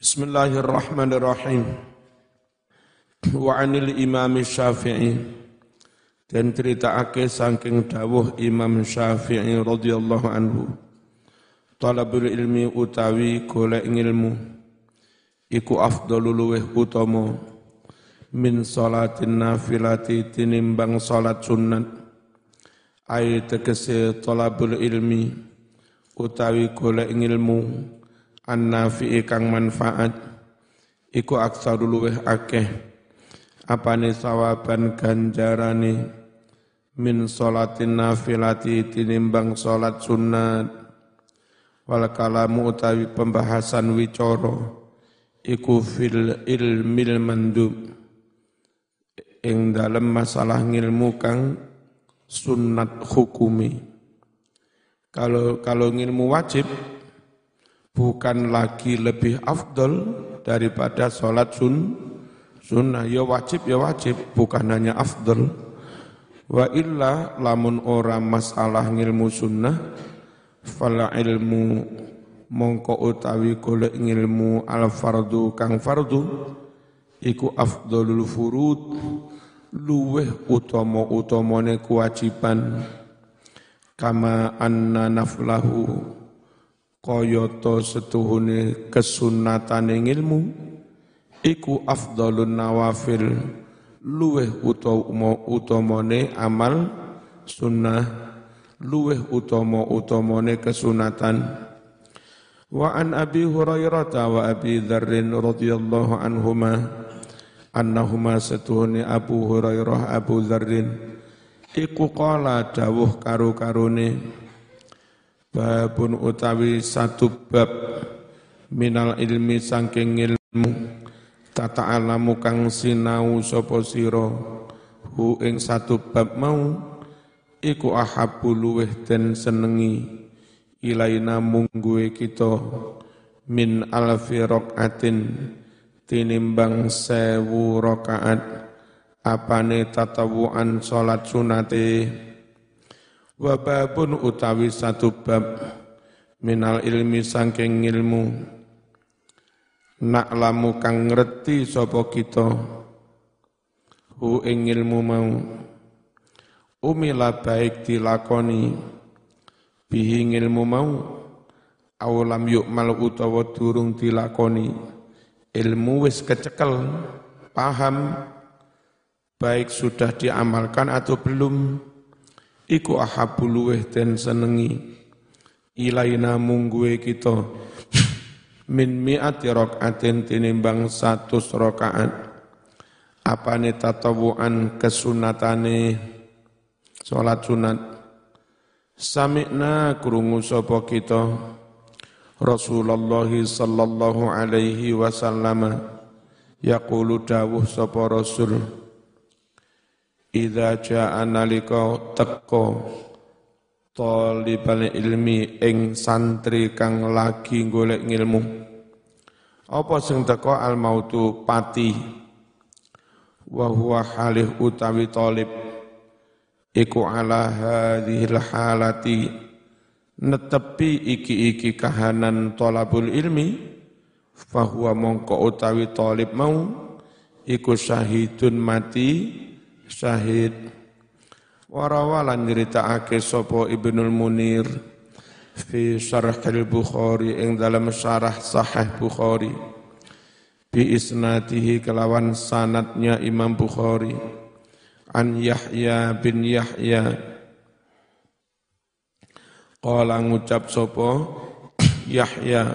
Bismillahirrahmanirrahim. Wa 'anil Imam Syafi'i, dan ceritaake saking dawuh Imam Syafi'i radhiyallahu anhu, talabul ilmi utawi golek ilmu iku afdhalul luweh utama min sholatin nafilati tinimbang salat sunat. Ai tegese talabul ilmi utawi golek ilmu an-nafi'i kang manfaat iku aksarul luweh akeh apane sawaban ganjarane min sholatin nafilati tinimbang salat sunat. Wal kalamu utawi pembahasan wicara iku fil ilmil mandub ing dalem masalah ngilmu kang sunat hukumi. Kalau ngilmu wajib bukan lagi lebih afdol daripada sholat sunnah. Ya wajib, bukan hanya afdol. Wa illa lamun ora masalah ngilmu sunnah, fala ilmu mongko utawi golek ngilmu al fardu kang fardu iku afdolul furud, luweh utama-utamane kewajiban. Kama anna naflahu, kayata setuhune kesunatane ngilmu iku afdhalun nawafil, luweh utamane amal sunnah, luweh utama-utamane kesunatan. Wa an Abi Hurairah wa Abi Dzarrin radhiyallahu anhuma annahuma setuhune Abu Hurairah Abu Dzarrin iku qala dawuh karo-karone babun utawi satu bab minal ilmi saking ilmu tata'alamu kang sinau sapa sira hu ing satu bab mau iku ahabbu luweh den senengi ilaina mungguwe kita min alfi raqatin tinimbang 1000 rakaat apane tatawuan salat sunate. Wa babun utawi satu bab minal ilmi saking ilmu naklamu kang ngerti sapa kita hu ing ilmu mau umila baik dilakoni bihi ilmu mau awalam yukmal utawa durung dilakoni ilmu wis kecekel paham baik sudah diamalkan atau belum iku ahabul luweh den senengi ilaina mungguwe kita min mi'ati rakaatin tinimbang 100 rakaat apane tatawuan kesunatane salat sunat. Sami'na krungu sapa kita Rasulullah sallallahu alaihi wasallam yaqulu dawuh sapa Rasul idza jaa nalika teka talibal ilmi ing santri kang lagi golek ngilmu apa sing teka al mautu pati wa huwa halih utawi talib iku ala hadhil halati netepi iki kahanan talabul ilmi fahuwa mongko utawi talib mau iku syahidun mati syahid. Warawalan nyeritakake sapa Ibnul Munir fi Syarhil Bukhari ing dalam syarah Sahih Bukhari bi isnadihi kelawan sanadnya Imam Bukhari an Yahya bin Yahya qala ngucap sapa Yahya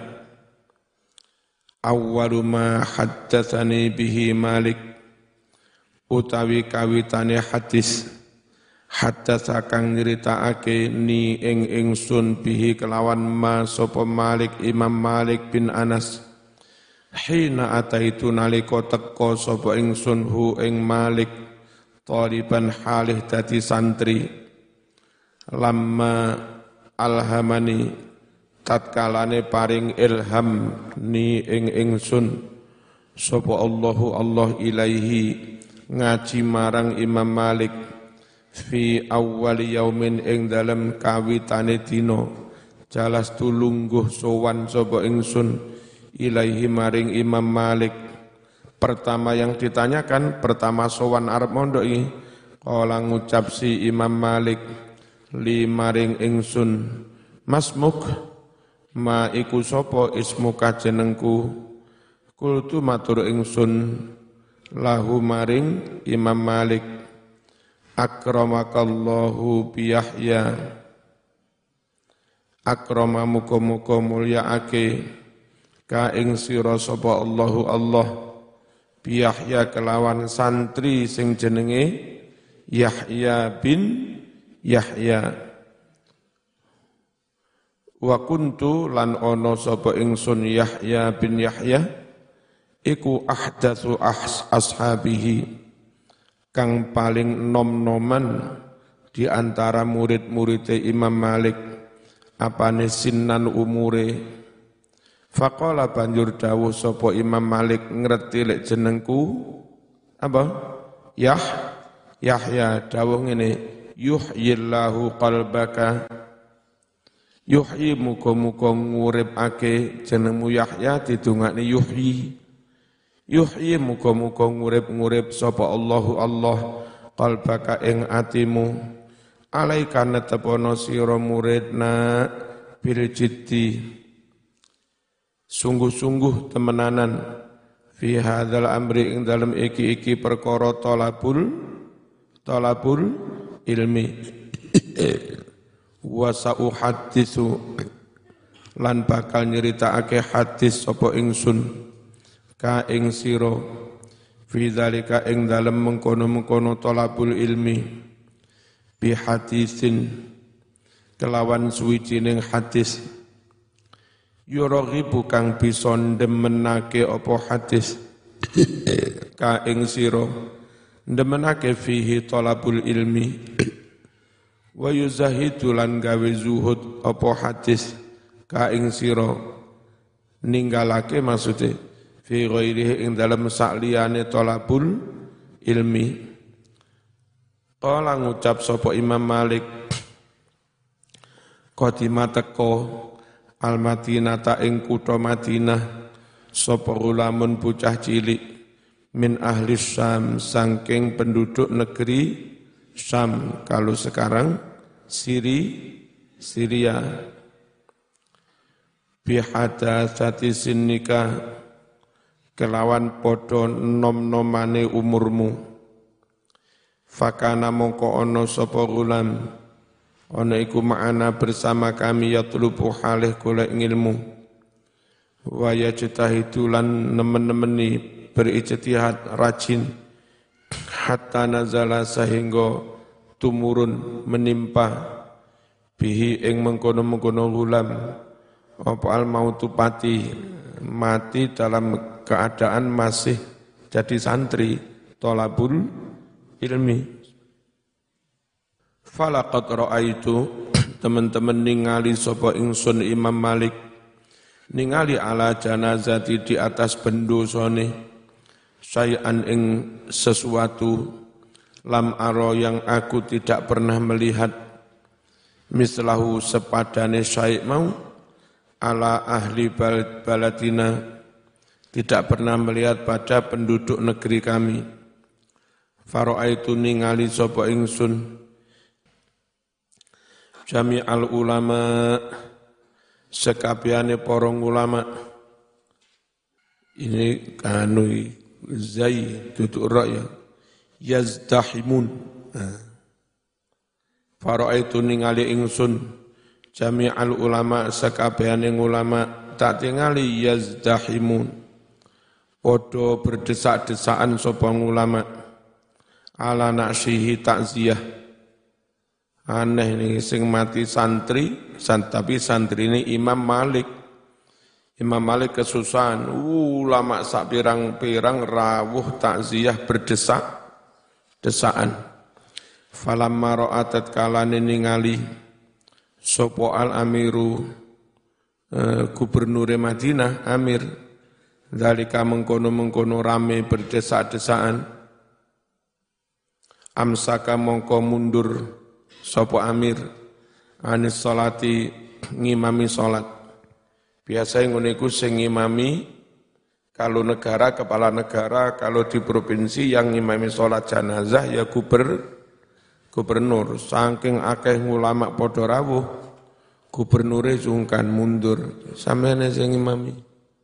awwalu ma haddatsani bihi Malik utawi kawitane hadis hadatsa kang nyritakake ni ing ingsun bihi kelawan ma sapa Malik Imam Malik bin Anas hina ataitu nalika teka sapa ingsun hu ing Malik taliban halih dadi santri lamma alhamani tatkalane paring ilham ni ing ingsun sapa Allahu Allah ilaihi ngaji marang Imam Malik fi awwal yaumin ing dalem kawitane dina jalas tulungguh sowan sapa ingsun ilaihi maring Imam Malik. Pertama yang ditanyakan, pertama sowan arep mondoi, kala ngucap si Imam Malik, li maring ingsun, masmuk, ma iku sapa ismuka jenengku. Kultu matur ingsun, lahu maring Imam Malik, akramakallahu biyahya, akrama muka-muka mulyaake ka ing sira sapa Allahu Allah biyahya kelawan santri sing jenenge Yahya bin Yahya. Wa kuntu lan ana sapa ingsun Yahya bin Yahya iku ahdatsu ashabihi, kang paling nom-noman di antara murid-murid Imam Malik, apane sinnan umure. Faqala banjur dawuh sapa Imam Malik, ngerti lek jenengku apa? Yahya. Dawuh ngene, yuhyillahu qalbaka, yuhyi muga-muga nguripake jenengmu Yahya didongakne yuhyi muga-muga ngurip sapa Allahu Allah qalbaka ing atimu, alaika netepono sira muridna bil jiddi, sungguh-sungguh temenanan, fi hadzal amri ing dalem iki perkara talabul ilmi. Wa sauhaddisu lan bakal nyeritakake hadis sapa ingsun ka ing sira fi dzalika ing dalem mengkono-mengkono talabul ilmi, bi hadisin kelawan suwijining hadis, yuraghibu kang bisa ndemenake apa hadis ka ing sira ndemenake fihi talabul ilmi, wa yuzahidu lan gawe zuhud apa hadis ka ing sira ninggalake maksude fi ghairihi ing dalam sakliyane talabul ilmi. Kala ngucap sapa Imam Malik, qadima teko al-Madinata ing kutha Madinah sapa ulamun bocah cilik min ahli Syam saking penduduk negeri Syam, kalau sekarang Syria, bihadatsati sinnika kelawan podo nom-nomane umurmu. Fakana mongko ono sapa gulam, ono iku ma'ana bersama kami yatlubu halih golek ilmu, wa yajtahidu lan nemen-nemeni berijtihad rajin, hatta nazala sehingga tumurun menimpa bihi ing mengkono-mengkono gulam apa al mautu mati dalam keadaan masih jadi santri thalabul ilmi. Falaqad ra'aitu, teman-teman ningali sapa ingsun Imam Malik ningali ala janazati di atas bendosone syai'an ing sesuatu lam aro yang aku tidak pernah melihat mislahu sepadane syai' mau ala ahli baladina, tidak pernah melihat pada penduduk negeri kami. Fara'aitu ningali sapa ingsun jami'al ulama, sekabehane para ulama. Ini kanui zai tutuk ra ya, yazdahimun. Fara'aitu ningali ingsun jami'al ulama, sekabehane ulama, tak tingali yazdahimun, podo berdesak-desakan sapa ulama ala naksihi takziyah. Aneh nih sing mati santri, tapi santri ini Imam Malik. Imam Malik kesusahan, ulama sak pirang-pirang rawuh takziyah berdesak-desakan. Falamma ra'atat kalane ningali sapa al-amiru, gubernur Madinah, amir, zalika mengkono-mengkono rame berdesak-desakan, amsaka mongko mundur sapa amir anis salati ngimami salat Biasanya ngono iku sing ngimami kalau negara, kepala negara, kalau di provinsi yang ngimami sholat jenazah ya gubernur. Saking akeh ulama padha rawuh, gubernure sungkan mundur. Sampeyan sing ngimami.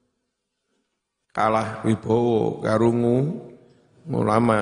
Kalah wibowo karungu ulama.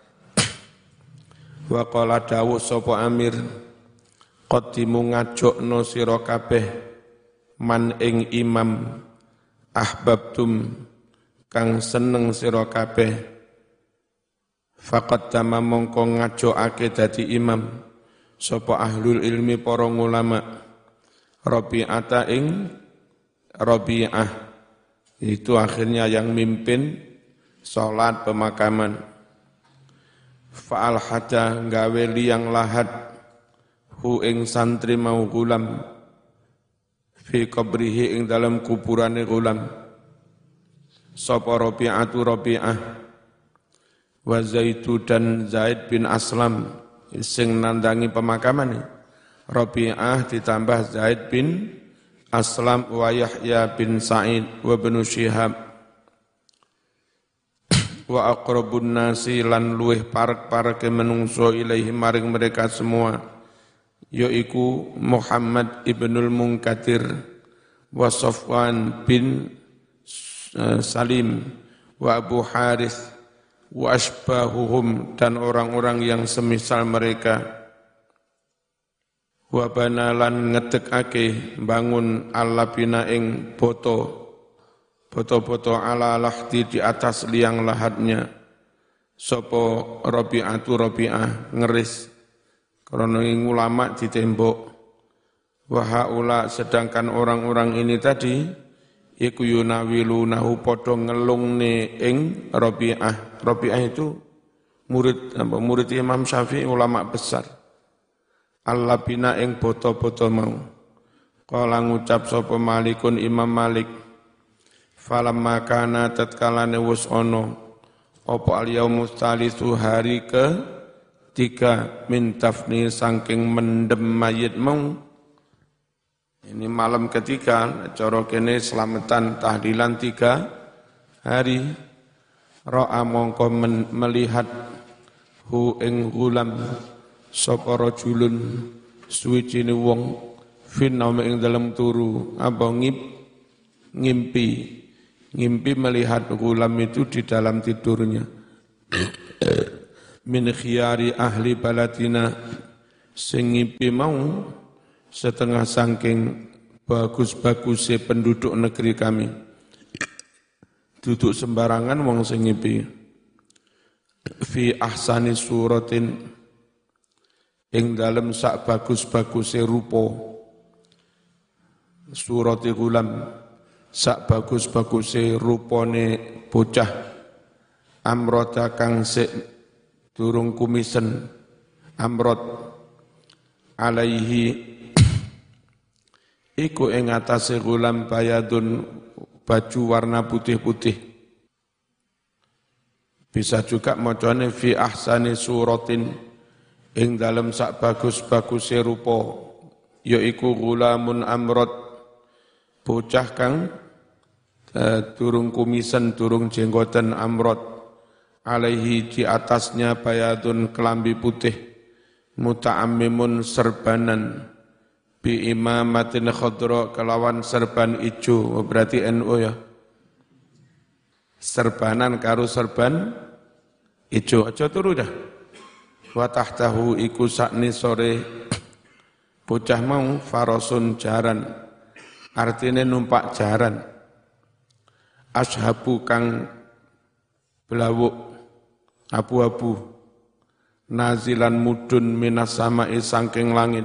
Wa qala dawuh sapa Amir qaddimu ngajokno sira kabeh man ing imam ahbabtum kang seneng sira kabeh faqad tama mongko ngajokake dadi imam sapa ahlul ilmi para ulama Rabi'ata ing Rabi'ah itu akhirnya yang mimpin salat pemakaman fa'al hada gawe liyang lahat hu ing santri mau gulam fi qabrihi ing dalam kuburane gulam sapa Rabi'atu Rabi'ah wa Zaidu dan Zaid bin Aslam sing nandangi pemakaman Rabi'ah ditambah Zaid bin Aslam wa Yahya bin Sa'id wa bin Syihab wa aqrabun nasi lan luweh parek-pareke menungso ilaihi maring mereka semua yaiku Muhammad ibnul Munkadir wa Safwan bin Salim wa Abu Harith wa asbahuhum dan orang-orang yang semisal mereka wa banalan ngedekake bangun allabina ing boto-boto ala lahdi di atas liang lahatnya sopo Rabi'atu Rabi'ah ngeris karena ulama di tembok wa haula sedangkan orang-orang ini tadi iku yunawilunahu padha ngelungne ing Rabi'ah. Rabi'ah itu murid Imam Syafi'i ulama besar allabina ing boto-boto mau kala ngucap sapa Malikun Imam Malik falamma kana tatkalane wus ono apa al-yaumus tsalitsu hari ke 3 min tafni saking mendem mayit mau ini malam ketiga cara kene selamatan tahlilan 3 hari ra'a mongko melihat hu ing gulam sapa rajulun suwijine wong finnaum ing dalam turu apa ngimpi melihat gulam itu di dalam tidurnya min khiyari ahli baladina sing ngimpi mau setengah saking bagus-bagusnya penduduk negeri kami duduk sembarangan wong sing ngimpi fi ahsani suratin ing dalem sak bagus-bagusnya rupa surati gulam sak bagus-baguse rupane bocah amrota kang sik durung kumisen amrot alaihi iku ing atase gulam bayadun baju warna putih-putih bisa juga macane fi ahsani suratin ing dalem sak bagus-baguse rupa yaiku gulamun amrot bocah kang durung kumisen, durung jenggoten amrot, alaihi di atasnya bayadun kelambi putih, muta'ammimun serbanan, bi imamatin khadra kelawan serban ijo, berarti NU ya. Serbanan karo serban ijo, aja turu dah. Wa tahtahu iku sakni sore bocah mau farasun jaran, artinya numpak jaran. Ashabu kang belawuk abu-abu nazilan mudun minas sama'i sangking langit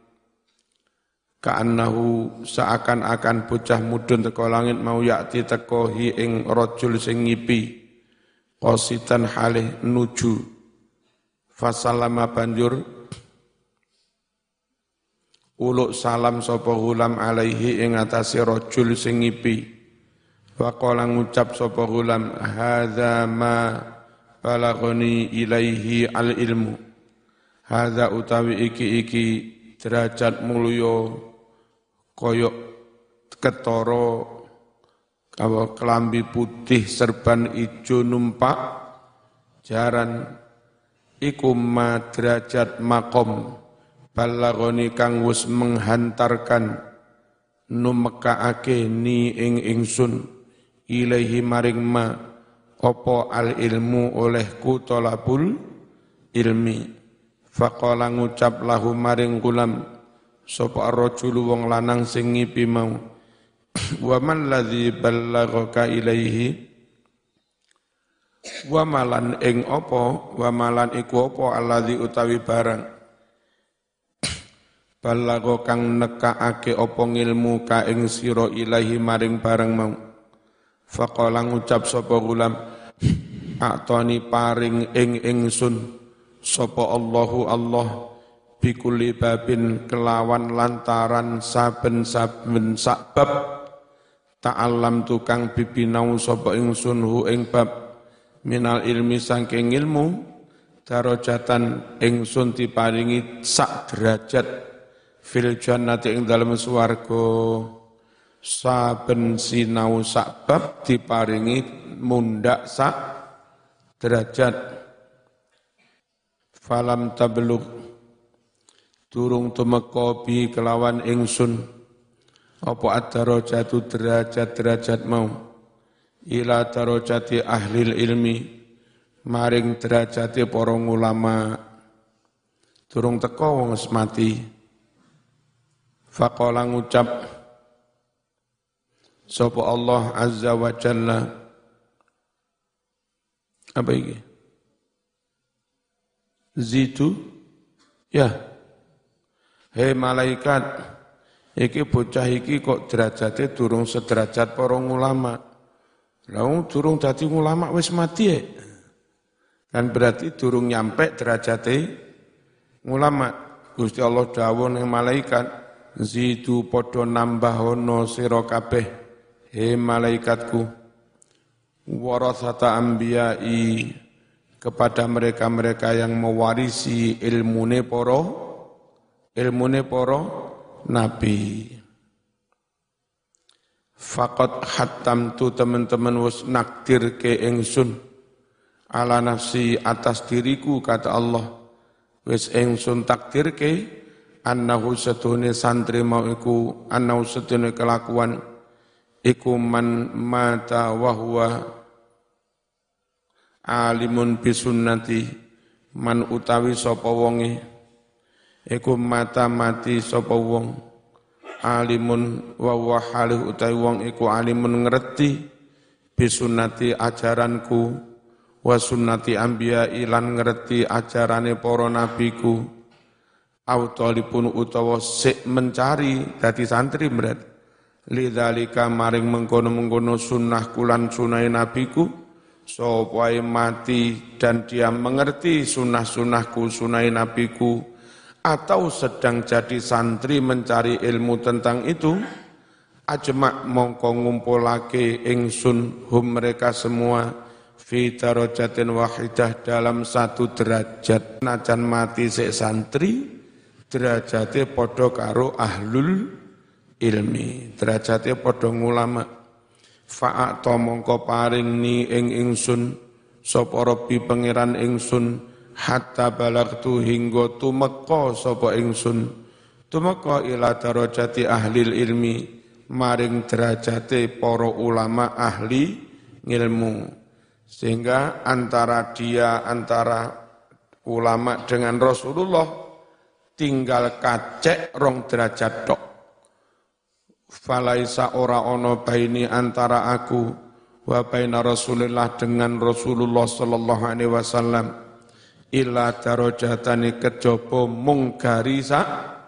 ka'annahu seakan-akan bocah mudun teko langit mau yakti teko hi ing rajul sing ngipi qasitan halih nuju fasallama banjur uluk salam sapa gulam alaihi ing atase rajul sing ngipi wa qala ngucap sapa gulam hadza ma balaghani ilaihi al ilmu hadza utawi iki derajat mulya koyok ketara kelambi putih serban ijo numpak jaran iku madrajat makom balagoni kang wis menghantarkan numekaake ni ing ingsun ilaihi maring ma apa al ilmu olehku tolabul ilmi faqala ngucap lahu maring gulam sapa ar-rajulu wong lanang sing ngipi mau wa man ladzi ballaghaka ilaihi wa malan ing apa wa malan iku apa alladzi utawi barang ballagha kang nekaake apa ngilmu ka ing sira ilahi maring barang mau faqala ngucap sapa gulam atoni paring ing ingsun sapa Allahu Allah bikulli babin kelawan lantaran saben-saben sabab ta'allam tukang bibinau sapa ingsun hu ing bab minal ilmi saking ilmu darajatan ingsun diparingi sak derajat fil jannati ing dalem swarga saben sinau sak bab diparingi mundak sak derajat falam tablugh durung tumeka bi kelawan ingsun apa ad-darajatu derajat-derajat mau ila darajati ahli ilmi maring derajate para ulama durung teka wong wis mati faqala ngucap sapa Allah azza wa jalla apa iki zitu ya hei malaikat iki bocah iki kok derajate durung sederajat para ulama lalu durung dadi ulama wis mati ya kan berarti durung nyampe derajate ulama Gusti Allah dawuh ning malaikat zitu padha nambahono sira kabeh he malaikatku warasata anbiya'i kepada mereka-mereka yang mewarisi ilmune para nabi. Faqad hattamtu teman-teman wis nakdir ke ingsun ala nafsi atas diriku kata Allah wis ingsun takdir ke annahu satune santri mau iku annahu satune kelakuan iku man mata wa huwa alimun bisunnati man utawi sapa wonge iku mata mati sapa wong alimun wa huwa halih utawi wong iku alimun ngerti bisunnati ajaranku wa sunnati anbiya ilan ngerti ajarane para nabiku au talipun utawa sik mencari dadi santri berat lidzalika maring mengkono-mengkono sunnah kulan sunai nabiku sapa mati dan dia mengerti sunnah-sunnahku sunai nabiku atau sedang jadi santri mencari ilmu tentang itu ajma' mongko ngumpulake ingsun hum mereka semua fi darajatin wahidah dalam satu derajat najan mati sik santri derajate padha karo ahlul ilmi derajate padha ulama fa'ata mongko paring ni ing ingsun sapa Rabbi pangeran ingsun hatta balagtu hingga tumeka sapa ingsun tumeka ila darajati ahli ilmi maring derajate para ulama ahli ilmu sehingga antara ulama dengan Rasulullah tinggal kacek rong derajat tok falaisa ora ono baini antara aku wa baina Rasulillah dengan Rasulullah sallallahu alaihi wasallam illa darajatani kejaba mung garisa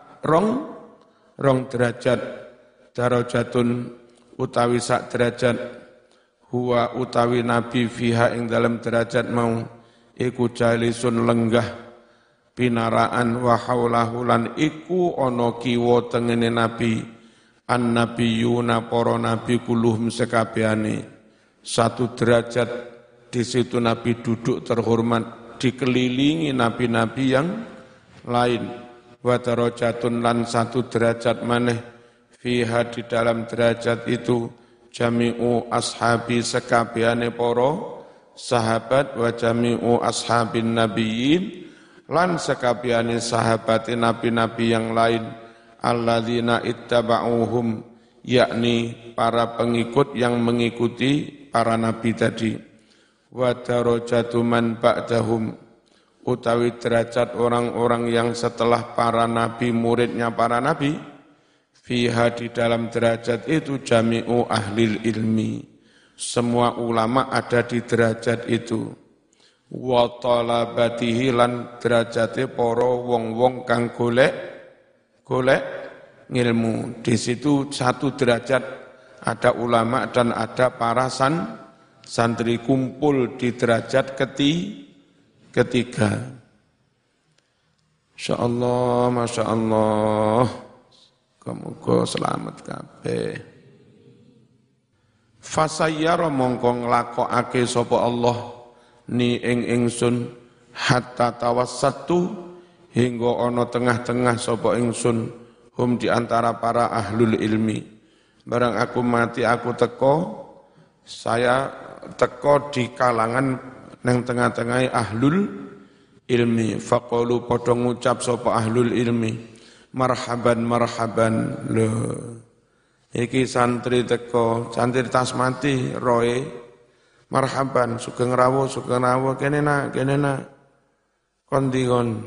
rong derajat darajatun utawi sak derajat huwa utawi nabi fiha ing dalam derajat mau iku jalisun lenggah pinaraan wa haulahu lan iku ana kiwa tengene nabi an-nabiyuna para nabi kuluhum sekabehane satu derajat di situ nabi duduk terhormat dikelilingi nabi-nabi yang lain wa darajatun lan satu derajat maneh fiha di dalam derajat itu jami'u ashabi sekabehane para sahabat wa jami'u ashabin nabiyyin lan sekabehane sahabat nabi-nabi yang lain alladzina ittaba'uhum yakni para pengikut yang mengikuti para nabi tadi wa darajatu man ba'dahum utawi derajat orang-orang yang setelah para nabi muridnya para nabi fiha di dalam derajat itu jami'u ahlil ilmi semua ulama ada di derajat itu wa talabatihi lan derajate para wong-wong kang golek ngilmu. Di situ satu derajat ada ulama dan ada para santri kumpul di derajat ketiga. Insyaallah, masyaallah. Muga selamat kabeh. Fasayyara mongko nglakokake sapa Allah ni ing ingsun hatta tawassatu hingga ana tengah-tengah sapa ingsun hum di antara para ahlul ilmi barang aku mati aku teko saya teko di kalangan nang tengah-tengah ahlul ilmi faqalu padha ngucap sapa ahlul ilmi marhaban marhaban lho iki santri teko santri tas mati roe marhaban sugeng rawuh kene nak kondi kon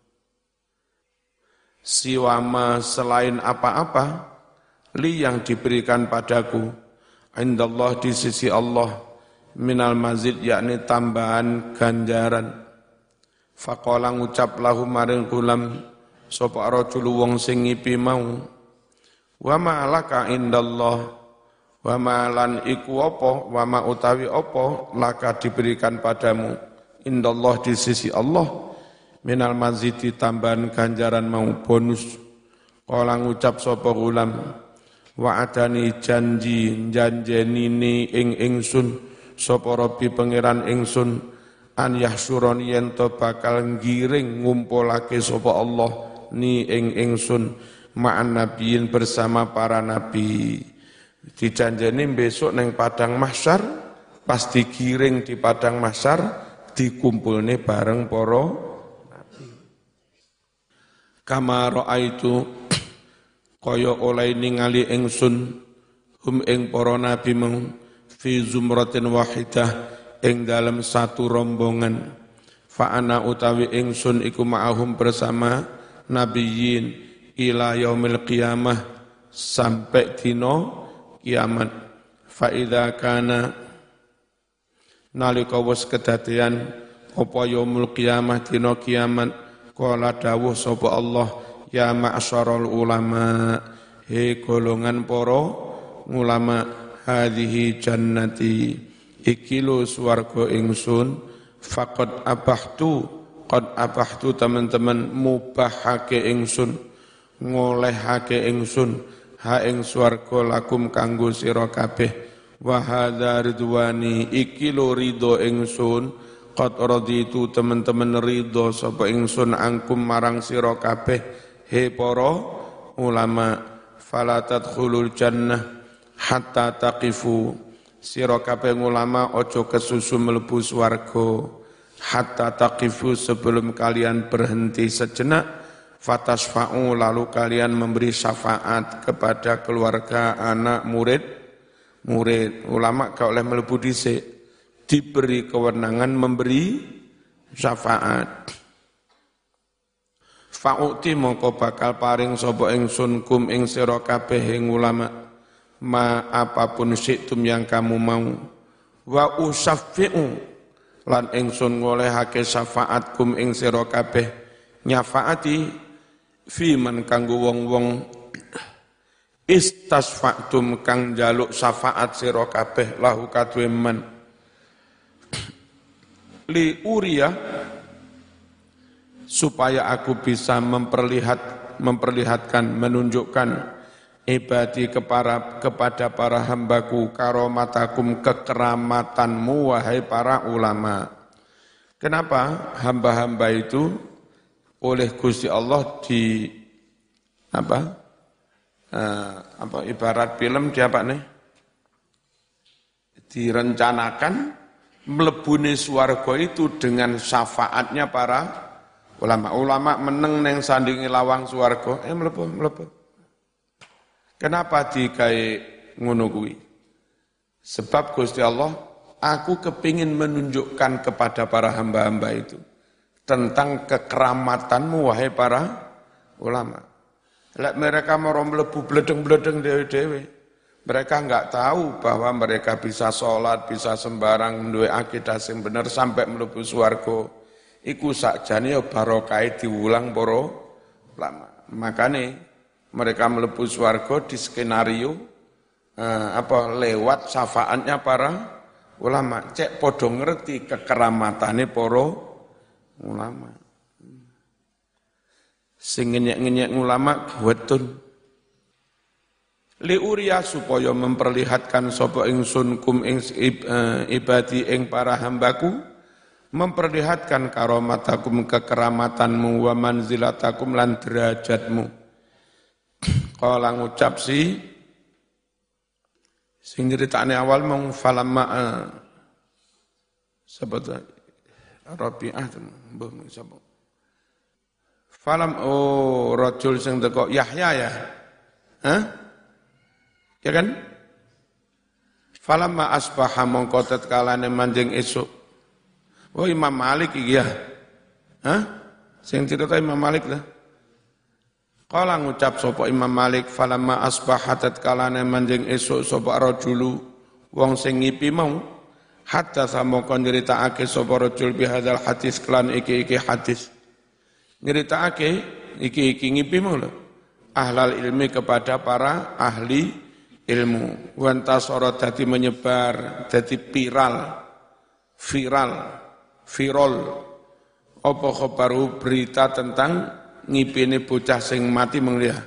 siwama selain apa-apa li yang diberikan padaku indallah di sisi Allah minal mazid yakni tambahan ganjaran faqala ngucap lahu maring gulam sapa rajul wong sing ngipi mau wa ma laka indallah wa malan iku apa wa ma utawi apa laka diberikan padamu indallah di sisi Allah minal mazidi tambahan ganjaran mau bonus kala ngucap sapa gulam wa adani janjenine ing ingsun sapa Rabbi pangeran ingsun an yahsurani yen to bakal ngiring ngumpulake sapa Allah ni ing ingsun ma'an nabiyin bersama para nabi. Dijanjeni besok neng padang mahsyar pas digiring di padang mahsyar dikumpulne bareng para nabi. Kama raaitu kaya oleh ningali ingsun hum ing para nabi mung fi zumratin wahidah ing dalam satu rombongan fa ana utawi ingsun iku ma'ahum bersama nabiyyin ila yaumil qiyamah sampai dino kiamat fa idza kana nalika wis kedadian apa yaumul qiyamah dina kiamat qala dawuh sapa Allah ya ma'syarul ulama he golongan para ulama hadhihi jannati iki lho swarga ingsun faqad abahtu teman-teman mubahake ingsun ngolehake ingsun ha ing swarga lakum kanggo sira kabeh wa hadza ridwani iki lho ridho ingsun qad raditu teman-teman ridho sapa ingsun angkum marang sira kabeh he para ulama fala tadkhulul jannah hatta taqifu sira kabeh ulama aja kesusu mlebu swarga hatta taqifu sebelum kalian berhenti sejenak fatasfa'u lalu kalian memberi syafaat kepada keluarga anak murid ulama gak oleh mlebu dhisik diberi kewenangan memberi syafaat fa'uti mongko bakal paring sapa ingsun kum ing sira kabeh ing ulama ma apapun syi'tum yang kamu mau wa usaffi'u lan ingsun ngolehake syafaat kum ing sira kabeh nyafaati fi man kanggo wong-wong istasfa'tum kang jaluk syafaat sira kabeh lahu kadue man li uriya supaya aku bisa memperlihatkan menunjukkan ibadi kepada para hambaku karomatakum kekeramatanmu wahai para ulama. Kenapa hamba-hamba itu oleh Gusti Allah ibarat film di apa nih? direncanakan mlebune swarga itu dengan syafaatnya para ulama. Ulama meneng neng sandingi lawang swarga, mlebu. Kenapa digawe ngono kuwi? Sebab Gusti Allah, aku kepingin menunjukkan kepada para hamba-hamba itu tentang kekeramatanmu wahai para ulama. Lek mereka mau mlebu bledeng-bledeng dewe-dewe, mereka enggak tahu bahwa mereka bisa sholat, bisa sembarang duwe akidah sing bener sampai mlebu swarga. Iku sakjane ya barokah diulang para ulama. Makane mereka mlebu swarga di skenario lewat syafaatnya para ulama. Cek podo ngerti kekeramatane para ulama. Sing ngenyek-ngenyek ulama wetun. Li uriya supaya memperlihatkan sapa ingsun kum ing ibadi ing para hambaku, memperlihatkan karomatakum kekeramatanmu wa manzilatakum lan derajatmu. Kala ngucap sing ceritane awal mung falamma sebut Rabi'ah mbah sapa. Rajul sing teko Yahya ya. Hah? Ya kan? Falamma asbaha mongko tatkalane manjing esuk. Oh Imam Malik iki ya. Hah? Sing cerita Imam Malik lah. Kala ngucap sapa Imam Malik falamma asbaha tatkalane manjing esuk sapa rajulu wong sing ngipi mau hatta samoko nyritakake sapa rajul bihadzal hadis kelan iki hadis. Nyritakake iki ngipi mau lho. Ahlal ilmi kepada para ahli ilmu. Wantasara dadi menyebar, dadi viral. Apa khabaru berita tentang ngipine bocah sing mati mengliah.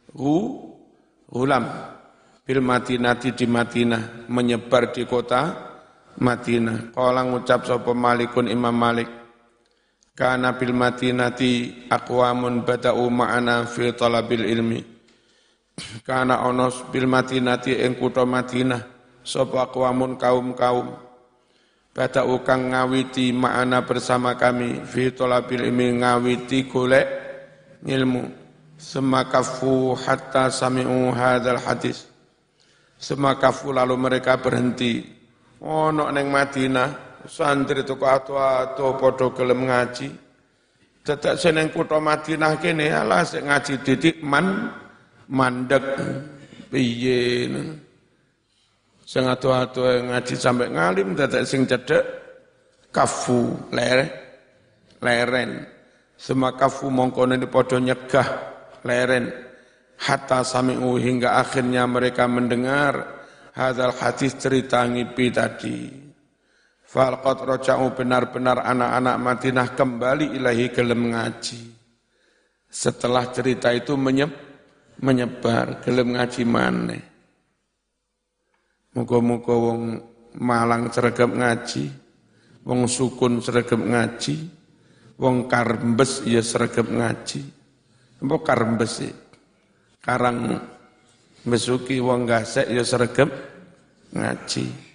Ulam bil Madinati di Madinah, menyebar di kota Madinah. Kala ngucap sapa Malikun Imam Malik, kana bil Madinati aqwamun bada'u ma'ana fi talabil ilmi. Kana onos bil Madinati ing kutha Madinah sapa aqwamun kaum-kaum bada'u kang ngawiti ma'ana bersama kami fi talabil ilmi, ngawiti golek ilmu. Semakafu hatta sami'u hadzal hadis. Semakafu lalu mereka berhenti. Ono ning Madinah santri toko ato-ato padha gelem ngaji. Dadak seneng kutha Madinah kene alah sik ngaji didik mandek piye. Sing ato-ato ngaji sampai ngalim dadak sing cedhek kafu leren. Semakafu mongko nene padha nyegah leren hatta sami'u hingga akhirnya mereka mendengar hadzal hadis cerita ngipi tadi. Falqat roja'u benar-benar anak-anak Madinah kembali ilahi gelem ngaji. Setelah cerita itu menyebar, gelem ngaji maneh. Muga-muga wong Malang sregep ngaji, wong Sukun sregep ngaji, wong Karembes ya sregep ngaji. Apa Karembes sih? Karang Besuki wong Gasek ya sregep ngaji.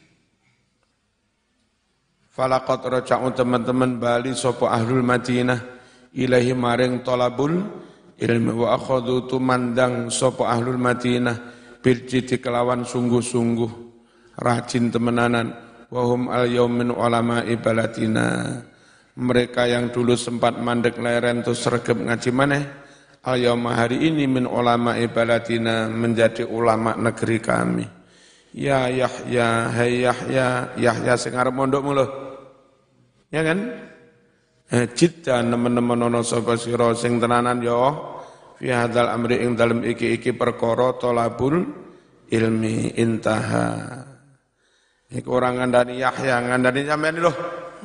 Falaqat raja'u teman-teman bali sapa ahlul Madinah ilahi maring talabul ilmi wa akhadhu tumandang sapa ahlul Madinah bil jiddi kelawan sungguh-sungguh rajin temenanan wa hum al yaumin ulama'i baladina. Mereka yang dulu sempat mandek leren terus sregep ngaji maneh al yauma hari ini min ulama'i baladina menjadi ulama negeri kami. Ya Yahya, hai Yahya sing arep mondokmu lho. Ya kan? Jiddan nemen-nemen ana sapa sira sing tenanan ya fi hadzal amri ing dalem iki perkara talabul ilmi intaha. Iku ora ngandani Yahya, ngandani sampeyan lho.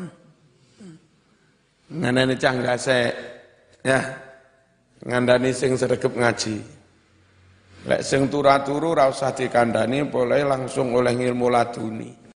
Ngandani cah gasek. Ya. Ngandani sing sregep ngaji. Lek sing turu-turu ora usah dikandani, boleh langsung oleh ilmu laduni.